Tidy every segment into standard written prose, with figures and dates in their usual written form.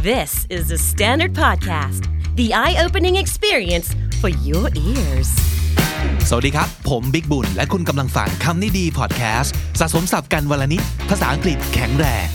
This is the Standard Podcast, the eye-opening experience for your ears. สวัสดีครับผมบิ๊กบุญและคุณกำลังฟังคำนี้ดีพอดแคสต์สะสมศัพท์กันวันละนิดภาษาอังกฤษแข็งแรง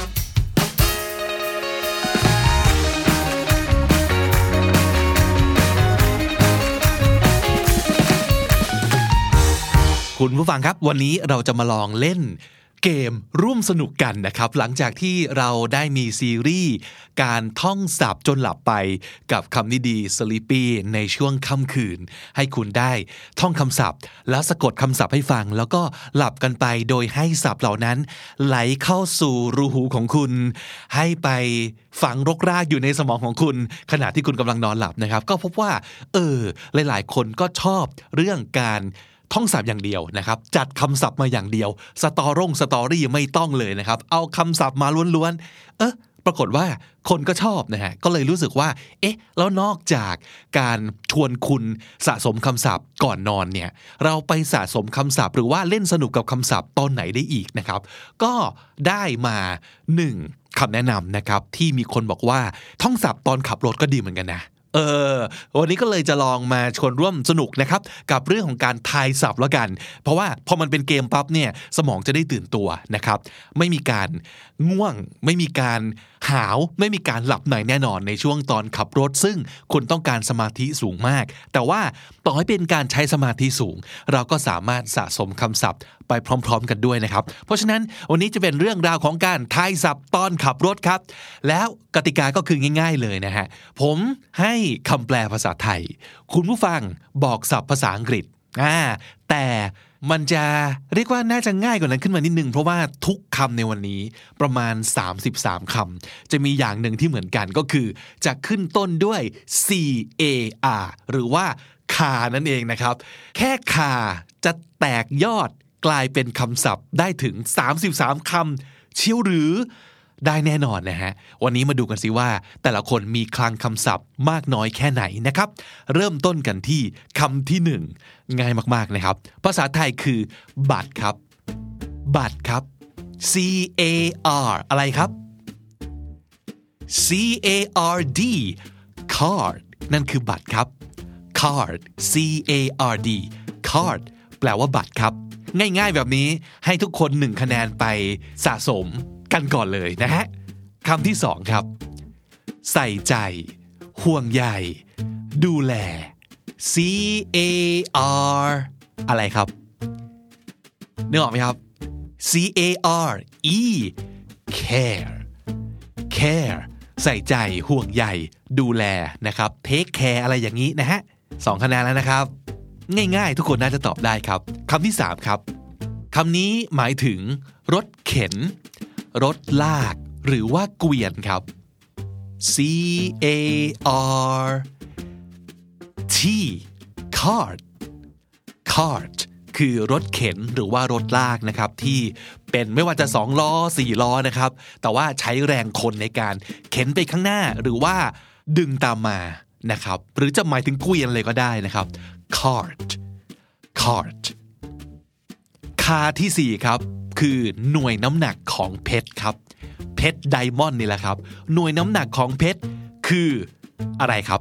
คุณผู้ฟังครับวันนี้เราจะมาลองเล่นเกมร่วมสนุกกันนะครับหลังจากที่เราได้มีซีรีส์การท่องศัพท์จนหลับไปกับคำนี้ดี Sleepy ในช่วงค่ำคืนให้คุณได้ท่องคำศัพท์แล้วสะกดคำศัพท์ให้ฟังแล้วก็หลับกันไปโดยให้ศัพท์เหล่านั้นไหลเข้าสู่รูหูของคุณให้ไปฝังรกรากอยู่ในสมองของคุณขณะที่คุณกำลังนอนหลับนะครับก็พบว่าหลายๆคนก็ชอบเรื่องการท่องศัพท์อย่างเดียวนะครับจัดคำศัพท์มาอย่างเดียวสตอรี่ไม่ต้องเลยนะครับเอาคำศัพท์มาล้วนๆปรากฏว่าคนก็ชอบนะฮะก็เลยรู้สึกว่าแล้วนอกจากการชวนคุณสะสมคำศัพท์ก่อนนอนเนี่ยเราไปสะสมคำศัพท์หรือว่าเล่นสนุกกับคำศัพท์ตอนไหนได้อีกนะครับก็ได้มา1คำแนะนำนะครับที่มีคนบอกว่าท่องศัพท์ตอนขับรถก็ดีเหมือนกันนะวันนี้ก็เลยจะลองมาชวนร่วมสนุกนะครับกับเรื่องของการทายศัพท์แล้วกันเพราะว่าพอมันเป็นเกมปั๊บเนี่ยสมองจะได้ตื่นตัวนะครับไม่มีการง่วงไม่มีการหาวไม่มีการหลับในแน่นอนในช่วงตอนขับรถซึ่งคุณต้องการสมาธิสูงมากแต่ว่าต่อให้เป็นการใช้สมาธิสูงเราก็สามารถสะสมคำศัพท์ไปพร้อมๆกันด้วยนะครับเพราะฉะนั้นวันนี้จะเป็นเรื่องราวของการทายศัพท์ตอนขับรถครับแล้วกติกาก็คือง่ายๆเลยนะฮะผมให้คำแปลภาษาไทยคุณผู้ฟังบอกศัพท์ภาษาอังกฤษแต่มันจะเรียกว่าน่าจะง่ายกว่านั้นขึ้นมานิดนึงเพราะว่าทุกคำในวันนี้ประมาณ33คำจะมีอย่างหนึ่งที่เหมือนกันก็คือจะขึ้นต้นด้วย CAR หรือว่าคานั่นเองนะครับแค่คาจะแตกยอดกลายเป็นคำศัพท์ได้ถึง33คำเชียวหรือได้แน่นอนนะฮะวันนี้มาดูกันสิว่าแต่ละคนมีคลังคำศัพท์มากน้อยแค่ไหนนะครับเริ่มต้นกันที่คำที่1ง่ายมากๆนะครับภาษาไทยคือบัตรครับบัตรครับ CAR อะไรครับ CARD card นั่นคือบัตรครับ card CARD card แปลว่าบัตรครับง่ายๆแบบนี้ให้ทุกคน1คะแนนไปสะสมกันก่อนเลยนะฮะคำที่2ครับใส่ใจห่วงใยดูแล CAR อะไรครับนึกออกไหมครับ CARE care care ใส่ใจห่วงใยดูแลนะครับ take care อะไรอย่างนี้นะฮะ2คะแนนแล้วนะครับง่ายๆทุกคนน่าจะตอบได้ครับคำที่3ครับคำนี้หมายถึงรถเข็นรถลากหรือว่าเกวียนครับ CART cart cart คือรถเข็นหรือว่ารถลากนะครับที่เป็นไม่ว่าจะ2ล้อ4ล้อนะครับแต่ว่าใช้แรงคนในการเข็นไปข้างหน้าหรือว่าดึงตามมานะครับหรือจะหมายถึงเกวียนเลยก็ได้นะครับ cart cart คาที่4ครับคือหน่วยน้ำหนักของเพชรครับเพชรไดมอนด์นี่แหละครับหน่วยน้ำหนักของเพชรคืออะไรครับ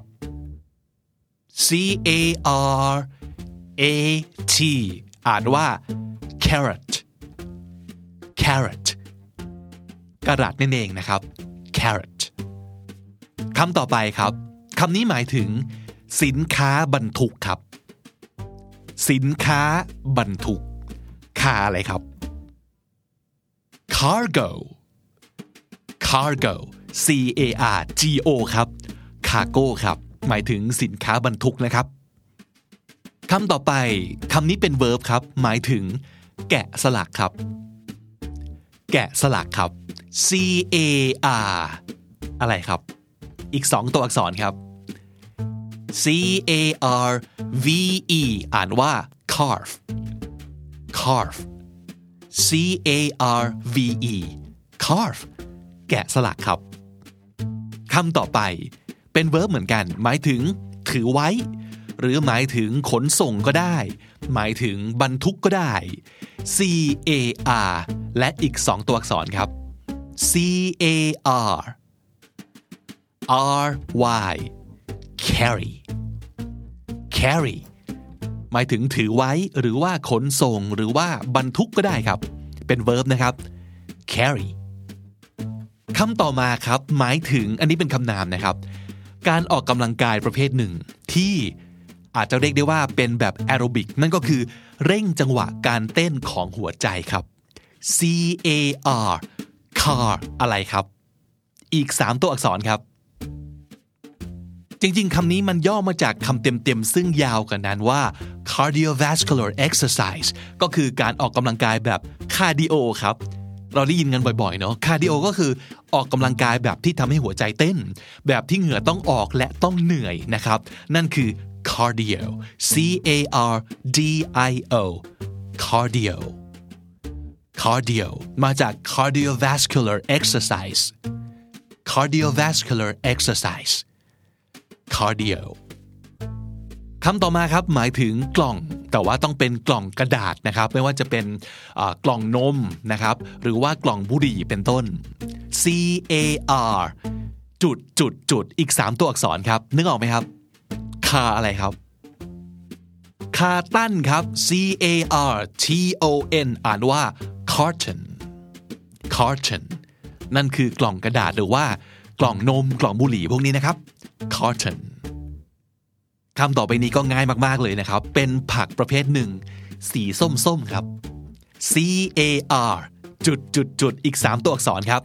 CARAT อ่านว่า carat carat กะรัตนั่นเองนะครับ carat คำต่อไปครับคำนี้หมายถึงสินค้าบรรทุกครับสินค้าบรรทุกคาอะไรครับ cargo cargo CARGO ครับ cargo ครับหมายถึงสินค้าบรรทุกนะครับคำต่อไปคำนี้เป็น verb ครับหมายถึงแกะสลักครับแกะสลักครับ CAR อะไรครับอีก2ตัวอักษรครับ CARVE อ่านว่า carve carve CARVE carve แกะสลักครับคำต่อไปเป็น verb เหมือนกันหมายถึงถือไว้หรือหมายถึงขนส่งก็ได้หมายถึงบรรทุกก็ได้ CAR และอีก2ตัวอักษรครับ CAR R-Y carry carry หมายถึงถือไว้หรือว่าขนส่งหรือว่าบรรทุกก็ได้ครับเป็น verb นะครับ carry คำต่อมาครับหมายถึงอันนี้เป็นคำนามนะครับการออกกำลังกายประเภทหนึ่งที่อาจจะเรียกได้ว่าเป็นแบบแอโรบิกนั่นก็คือเร่งจังหวะการเต้นของหัวใจครับ C-A-R car อะไรครับอีก3ตัวอักษรครับจริงๆคำนี้มันย่อมาจากคำเต็มๆซึ่งยาวกว่านั้นว่า cardiovascular exercise ก็คือการออกกำลังกายแบบคาร์ดิโอครับเราได้ยินกันบ่อยๆเนาะคาร์ดิโอก็คือออกกำลังกายแบบที่ทำให้หัวใจเต้นแบบที่เหงื่อต้องออกและต้องเหนื่อยนะครับนั่นคือ cardio C-A-R-D-I-O cardio cardio มาจาก cardiovascular exercise cardiovascular exercise cardio คำต่อมาครับหมายถึงกล่องแต่ว่าต้องเป็นกล่องกระดาษนะครับไม่ว่าจะเป็นกล่องนมนะครับหรือว่ากล่องบุหรี่เป็นต้น C-A-R จุดอีก3ตัวอักษรครับนึกออกไหมครับคาอะไรครับคาตั้นครับ C-A-R-T-O-N อ่านว่า carton carton นั่นคือกล่องกระดาษหรือว่ากล่องนมกล่องบุหรี่พวกนี้นะครับ carton คำต่อไปนี้ก็ง่ายมากๆเลยนะครับเป็นผักประเภทหนึ่งสีส้มๆครับ C-A-R จุดอีก3ตัวอักษรครับ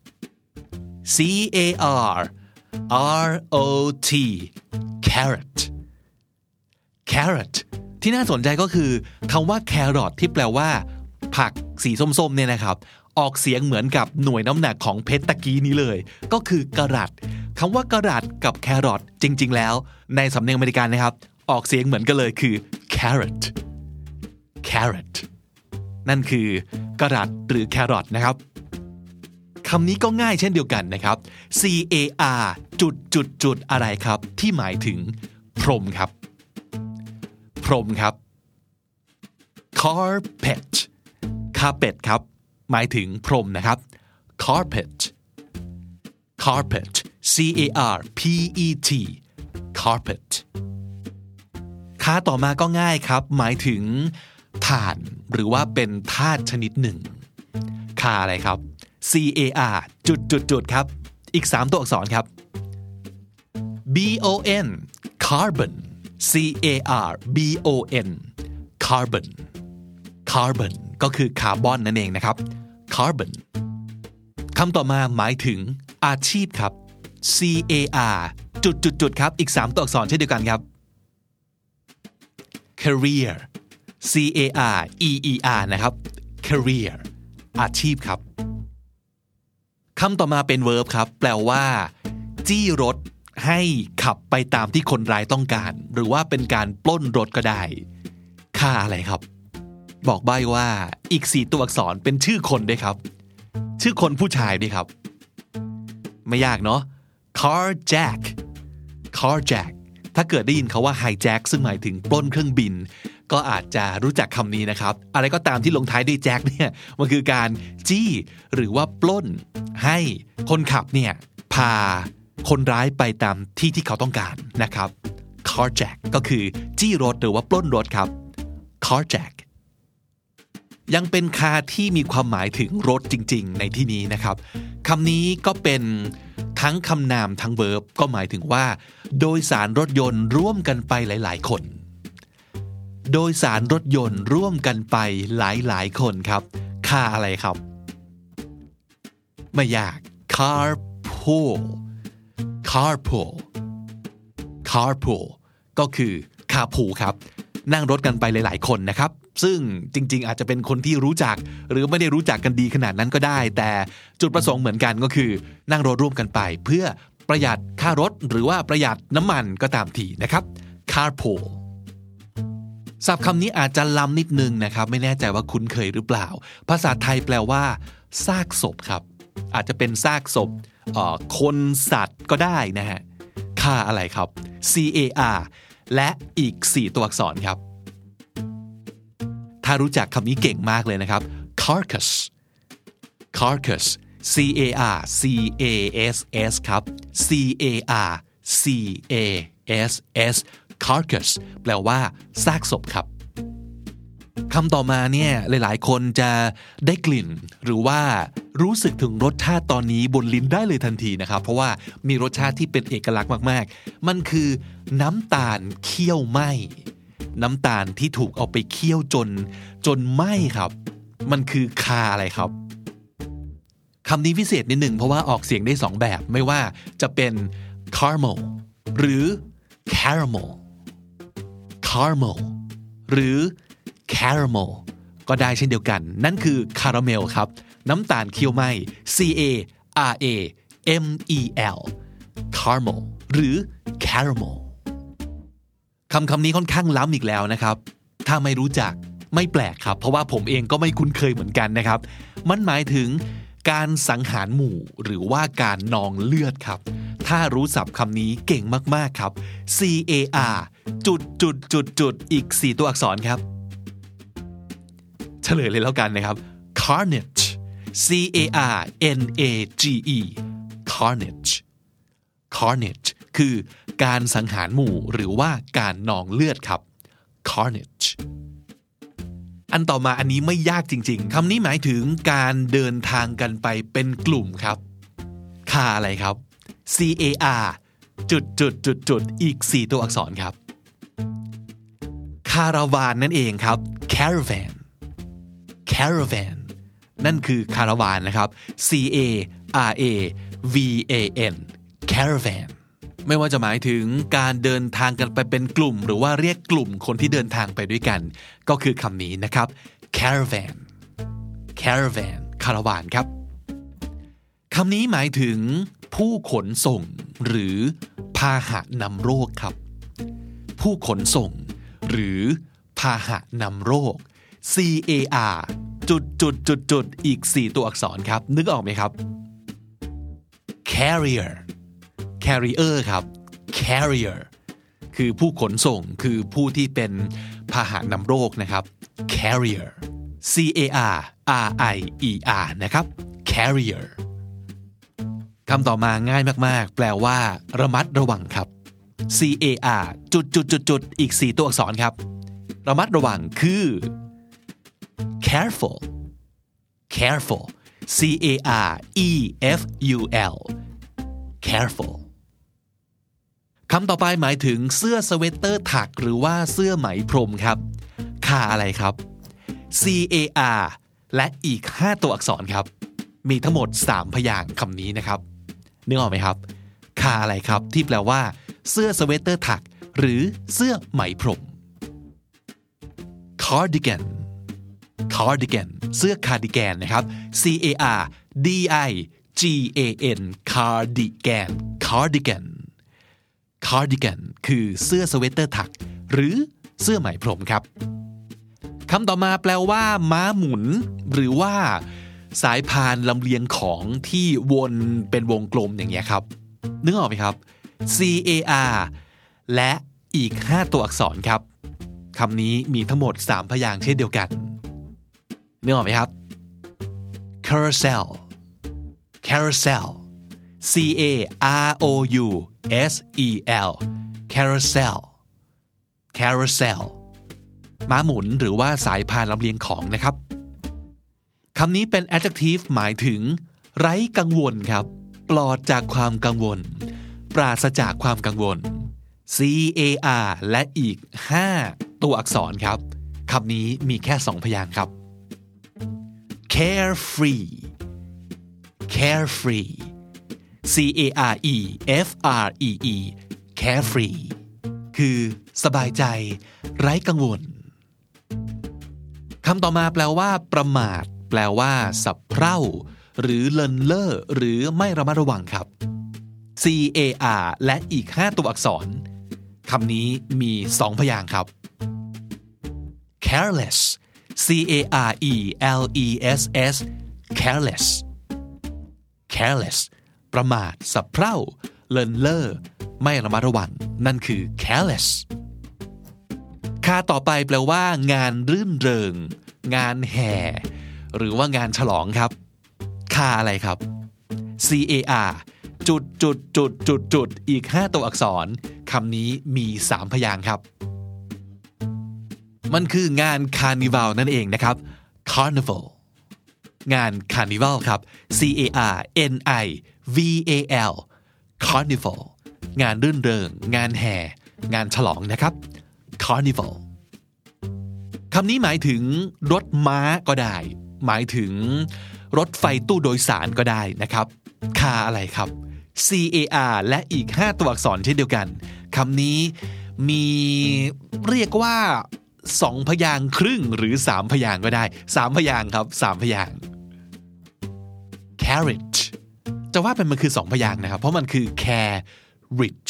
C-A-R-R-O-T carrot carrot ที่น่าสนใจก็คือคำว่า carrot ที่แปลว่าผักสีส้มๆเนี่ยนะครับออกเสียงเหมือนกับหน่วยน้ำหนักของเพชรตะกี้นี้เลยก็คือกะรัตคำว่ากะรัตกับแครอทจริงๆแล้วในสำเนียงอเมริกันนะครับออกเสียงเหมือนกันเลยคือ carrot carrot นั่นคือกะรัตหรือแครอทนะครับคำนี้ก็ง่ายเช่นเดียวกันนะครับ C-A-R จุดอะไรครับที่หมายถึงพรมครับพรมครับ carpet carpet ครับหมายถึงพรมนะครับ carpet carpet C-A-R-P-E-T carpet ค่าต่อมาก็ง่ายครับหมายถึงถ่านหรือว่าเป็นธาตุชนิดหนึ่งค่าอะไรครับ C-A-R จุดครับอีก3ตัวอักษรครับ B-O-N carbon C-A-R-B-O-N carbon carbon ก็คือคาร์บอนนั่นเองนะครับ carbon คำต่อมาหมายถึงอาชีพครับ C-A-R จุดครับอีก3ตัวอักษรเช่นเดียวกันครับ career C-A-R-E-E-R นะครับ career อาชีพครับคำต่อมาเป็น verb ครับแปลว่าจี้รถให้ขับไปตามที่คนร้ายต้องการหรือว่าเป็นการปล้นรถก็ได้ค่าอะไรครับบอกใบ้ว่าอีก4ตัวอักษรเป็นชื่อคนด้วยครับชื่อคนผู้ชายด้วยครับไม่ยากเนาะ carjack carjack ถ้าเกิดได้ยินเขาว่า hijack ซึ่งหมายถึงปล้นเครื่องบินก็อาจจะรู้จักคำนี้นะครับอะไรก็ตามที่ลงท้ายด้วย jack เนี่ยมันคือการจี้หรือว่าปล้นให้คนขับเนี่ยพาคนร้ายไปตามที่เขาต้องการนะครับ carjack ก็คือจี้รถหรือว่าปล้นรถครับ carjack ยังเป็นคาที่มีความหมายถึงรถจริงๆในที่นี้นะครับคำนี้ก็เป็นทั้งคำนามทั้ง verb ก็หมายถึงว่าโดยสารรถยนต์ร่วมกันไปหลายๆคนโดยสารรถยนต์ร่วมกันไปหลายๆคนครับค่าอะไรครับไม่ยาก carpool carpool carpool ก็คือ carpool ครับนั่งรถกันไปหลายๆคนนะครับซึ่งจริงๆอาจจะเป็นคนที่รู้จักหรือไม่ได้รู้จักกันดีขนาดนั้นก็ได้แต่จุดประสงค์เหมือนกันก็คือนั่งรถร่วมกันไปเพื่อประหยัดค่ารถหรือว่าประหยัดน้ำมันก็ตามทีนะครับ carpool ศัพท์คำนี้อาจจะล้ำนิดนึงนะครับไม่แน่ใจว่าคุ้นเคยหรือเปล่าภาษาไทยแปลว่าซากศพครับอาจจะเป็นซากศพคนสัตว์ก็ได้นะฮะค่าอะไรครับ CAR และอีก4ตัวอักษรครับถ้ารู้จักคำนี้เก่งมากเลยนะครับ carcass carcass carcass ครับ carcass carcass แปลว่าซากศพครับคำต่อมาเนี่ยหลายๆคนจะได้กลิ่นหรือว่ารู้สึกถึงรสชาติตอนนี้บนลิ้นได้เลยทันทีนะครับเพราะว่ามีรสชาติที่เป็นเอกลักษณ์มากๆมันคือน้ำตาลเคี่ยวไหม้น้ำตาลที่ถูกเอาไปเคี่ยวจนไหม้ครับมันคือคาอะไรครับคำนี้พิเศษนิดหนึ่งเพราะว่าออกเสียงได้2แบบไม่ว่าจะเป็น caramel หรือ caramel หรือ caramel ก็ได้เช่นเดียวกันนั่นคือคาราเมลครับน้ำตาลเคี่ยวไหม้ caramel caramel หรือ caramel คำนี้ค่อนข้างล้ำอีกแล้วนะครับถ้าไม่รู้จักไม่แปลกครับเพราะว่าผมเองก็ไม่คุ้นเคยเหมือนกันนะครับมันหมายถึงการสังหารหมู่หรือว่าการนองเลือดครับถ้ารู้ศัพท์คำนี้เก่งมากๆครับ car อีก4ตัวอักษรครับเฉลยเลยแล้วกันนะครับ carnage carnage คือการสังหารหมู่หรือว่าการนองเลือดครับ carnage อันต่อมาอันนี้ไม่ยากจริงๆคำนี้หมายถึงการเดินทางกันไปเป็นกลุ่มครับคาอะไรครับ car อีก4ตัวอักษรครับคาราวานนั่นเองครับ caravan นั่นคือคาราวานนะครับ caravan caravan ไม่ว่าจะหมายถึงการเดินทางกันไปเป็นกลุ่มหรือว่าเรียกกลุ่มคนที่เดินทางไปด้วยกันก็คือคำนี้นะครับ caravan คาราวานครับคำนี้หมายถึงผู้ขนส่งหรือพาหะนำโรคครับผู้ขนส่งหรือพาหะนำโรค car อีก4ตัวอักษรครับนึกออกไหมครับ carrier ครับ carrier คือผู้ขนส่งคือผู้ที่เป็นพาหะนำโรคนะครับ carrier carrier นะครับ carrier คำต่อมาง่ายมากๆแปลว่าระมัดระวังครับ car อีก4ตัวอักษรครับระมัดระวังคือ careful careful careful คำต่อไปหมายถึงเสื้อสเวตเตอร์ถักหรือว่าเสื้อไหมพรมครับคาอะไรครับ car และอีก5ตัวอักษรครับมีทั้งหมด3พยางค์คำนี้นะครับนึกออกไหมครับคาอะไรครับที่แปลว่าเสื้อสเวตเตอร์ถักหรือเสื้อไหมพรม cardigan เสื้อคาร์ดิแกนนะครับ cardiganคือเสื้อสเวตเตอร์ถักหรือเสื้อไหมพรมครับคำต่อมาแปลว่าม้าหมุนหรือว่าสายพานลำเลียงของที่วนเป็นวงกลมอย่างเงี้ยครับนึกออกไหมครับ car และอีก5ตัวอักษรครับคำนี้มีทั้งหมด3พยางค์เช่นเดียวกันนึกออกไหมครับ carousel carousel carousel ม้าหมุนหรือว่าสายพานลำเลียงของนะครับคำนี้เป็น adjective หมายถึงไร้กังวลครับปลอดจากความกังวลปราศจากความกังวล car และอีก5ตัวอักษรครับคำนี้มีแค่2พยางค์ครับ carefree carefree carefree คือสบายใจไร้กังวลคำต่อมาแปลว่าประมาทแปลว่าสับเพร่าหรือเลินเล่อหรือไม่ระมัดระวังครับ car และอีก5ตัวอักษรคำนี้มี2พยางค์ครับ careless careless ประมาทสับเพร่าเลินเล่อไม่ระมัดระวังนั่นคือ careless ค่าต่อไปแปลว่างานรื่นเริงงานแห่หรือว่างานฉลองครับค่าอะไรครับ car จุดอีก5ตัวอักษรคำนี้มี3พยางค์ครับมันคืองานคาร์นิวัลนั่นเองนะครับ Carnival งานคาร์นิวัลครับ CARNIVAL Carnival งานรื่นเริงงานแห่งานฉลองนะครับ Carnival คำนี้หมายถึงรถม้าก็ได้หมายถึงรถไฟตู้โดยสารก็ได้นะครับคาอะไรครับ CAR และอีก5ตัวอักษรเช่นเดียวกันคำนี้มีเรียกว่า2พยางค์ครึ่งหรือ3พยางค์ก็ได้3พยางค์ครับ3พยางค์ carriage จะว่าเป็นมันคือ2พยางค์นะครับเพราะมันคือ carriage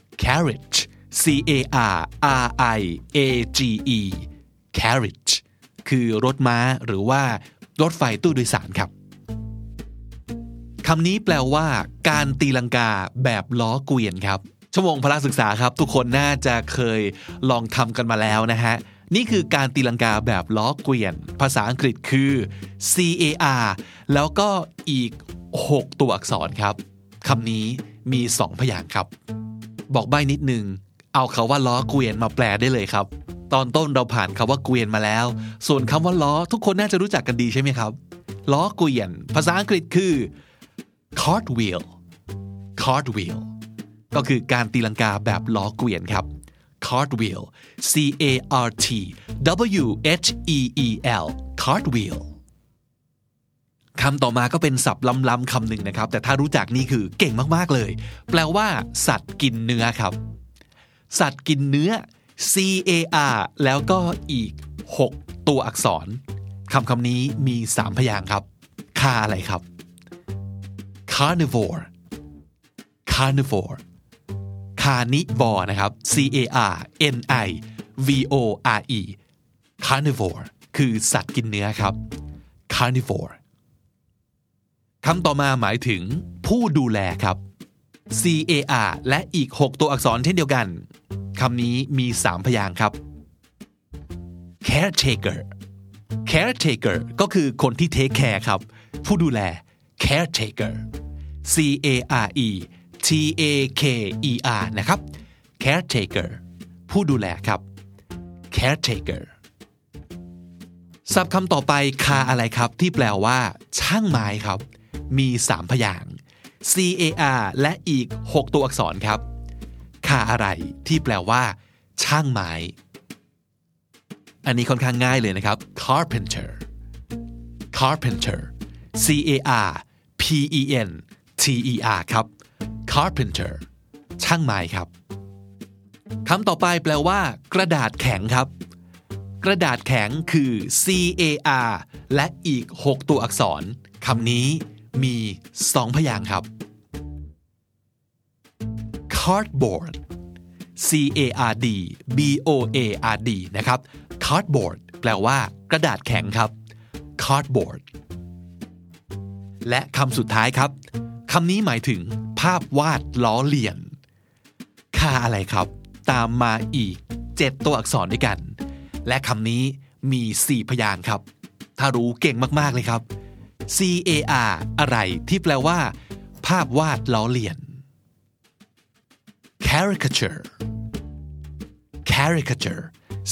CARRIAGE carriage คือรถม้าหรือว่ารถไฟตู้โดยสารครับคำนี้แปลว่าการตีลังกาแบบล้อเกวียนครับชั่วโมงพละศึกษาครับทุกคนน่าจะเคยลองทำกันมาแล้วนะฮะนี่คือการตีลังกาแบบล้อเกวียนภาษาอังกฤษคือ CAR แล้วก็อีก6ตัวอักษรครับคำนี้มี2พยางค์ครับบอกใบ้นิดนึงเอาคำว่าล้อเกวียนมาแปลได้เลยครับตอนต้นเราผ่านคำว่าเกวียนมาแล้วส่วนคำว่าล้อทุกคนน่าจะรู้จักกันดีใช่ไหมครับล้อเกวียนภาษาอังกฤษคือ cartwheel ก็คือการตีลังกาแบบล้อเกวียนครับ cartwheel CARTWHEEL cartwheel คำต่อมาก็เป็นศัพท์ล้ำๆคำหนึ่งนะครับแต่ถ้ารู้จักนี่คือเก่งมากๆเลยแปลว่าสัตว์กินเนื้อครับสัตว์กินเนื้อ CAR แล้วก็อีก6ตัวอักษรคำนี้มี3พยางค์ครับคาอะไรครับ carnivore carnivore นะครับ CARNIVORE carnivore คือสัตว์กินเนื้อครับ carnivore คำต่อมาหมายถึงผู้ดูแลครับ CAR และอีก6ตัวอักษรเช่นเดียวกันคำนี้มี3พยางค์ครับ caretaker ก็คือคนที่ take care ครับผู้ดูแล caretaker CARETAKER นะครับ caretaker ผู้ดูแลครับ caretaker ศัพท์คำต่อไปคาอะไรครับที่แปลว่าช่างไม้ครับมี3พยางค์ CAR และอีก6ตัวอักษรครับคาอะไรที่แปลว่าช่างไม้อันนี้ค่อนข้างง่ายเลยนะครับ carpenter CARPENTER ครับ carpenter ช่างไม้ครับคำต่อไปแปลว่ากระดาษแข็งครับกระดาษแข็งคือ CAR และอีก6ตัวอักษรคำนี้มี2พยางค์ครับ cardboard CARDBOARD นะครับ cardboard แปลว่ากระดาษแข็งครับ cardboard และคำสุดท้ายครับคำนี้หมายถึงภาพวาดล้อเลียนคาอะไรครับตามมาอีก7ตัวอักษรด้วยกันและคำนี้มี4พยางค์ครับถ้ารู้เก่งมากๆเลยครับ CAR อะไรที่แปลว่าภาพวาดล้อเลียน caricature CARICATURE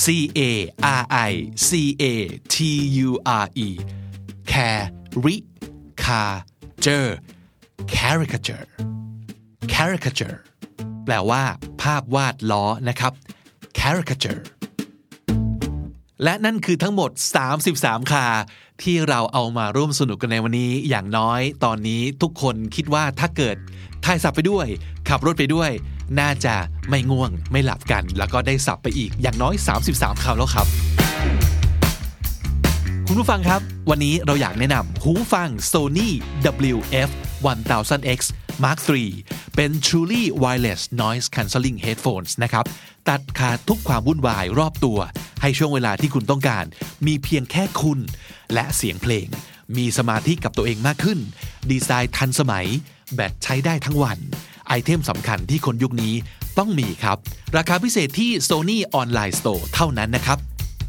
caricature แปลว่าภาพวาดล้อนะครับ caricature และนั่นคือทั้งหมด33คาที่เราเอามาร่วมสนุกกันในวันนี้อย่างน้อยตอนนี้ทุกคนคิดว่าถ้าเกิดถ่ายศัพท์ไปด้วยขับรถไปด้วยน่าจะไม่ง่วงไม่หลับกันแล้วก็ได้ศัพท์ไปอีกอย่างน้อย33คำแล้วครับคุณผู้ฟังครับวันนี้เราอยากแนะนำหูฟัง Sony WF-1000X Mark III เป็น Truly Wireless Noise Cancelling Headphones นะครับตัดขาดทุกความวุ่นวายรอบตัวให้ช่วงเวลาที่คุณต้องการมีเพียงแค่คุณและเสียงเพลงมีสมาธิกับตัวเองมากขึ้นดีไซน์ทันสมัยแบตใช้ได้ทั้งวันไอเทมสำคัญที่คนยุคนี้ต้องมีครับราคาพิเศษที่ Sony Online Store เท่านั้นนะครับ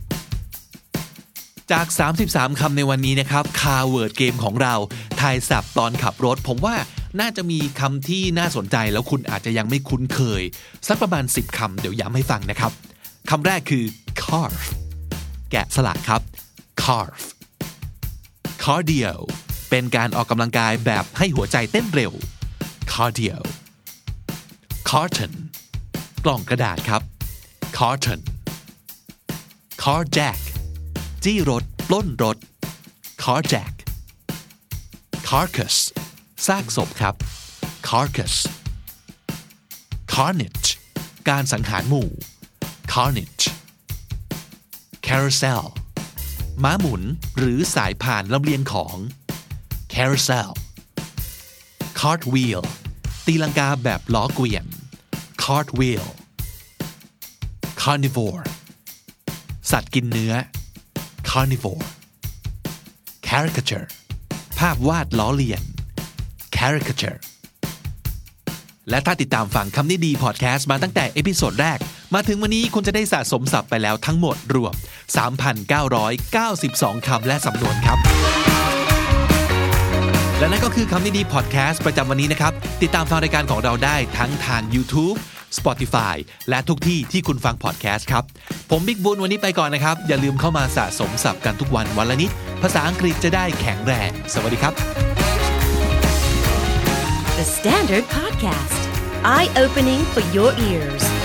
จาก33คำในวันนี้นะครับคาเวิร์ดเกมของเราทายศัพท์ตอนขับรถผมว่าน่าจะมีคำที่น่าสนใจแล้วคุณอาจจะยังไม่คุ้นเคยสักประมาณ10คำเดี๋ยวย้ำให้ฟังนะครับคำแรกคือ carve แกะสลักครับ carve cardio เป็นการออกกำลังกายแบบให้หัวใจเต้นเร็ว cardio carton กล่องกระดาษครับ carton carjack จี้รถปล้นรถ carjack carcass ซากศพครับ carcass carnage การสังหารหมู่ carnage carousel ม้าหมุนหรือสายพานลำเลียงของ carousel cartwheel ตีลังกาแบบล้อเกวียน cartwheel carnivore สัตว์กินเนื้อ carnivore caricature ภาพวาดล้อเลียน caricature และถ้าติดตามฟังคำนี้ดีพอดแคสต์มาตั้งแต่เอพิโซดแรกมาถึงวันนี้คุณจะได้สะสมศัพท์ไปแล้วทั้งหมดรวม 3,992 คำและสำนวนครับและนั่นก็คือคำนี้ดีพอดแคสต์ประจำวันนี้นะครับติดตามฟังรายการของเราได้ทั้งทาง YouTube Spotify และทุกที่ที่คุณฟังพอดแคสต์ครับผมบิ๊กบุญวันนี้ไปก่อนนะครับอย่าลืมเข้ามาสะสมศัพท์กันทุกวันวันละนิดภาษาอังกฤษจะได้แข็งแรงสวัสดีครับ The Standard Podcast Eye Opening for Your Ears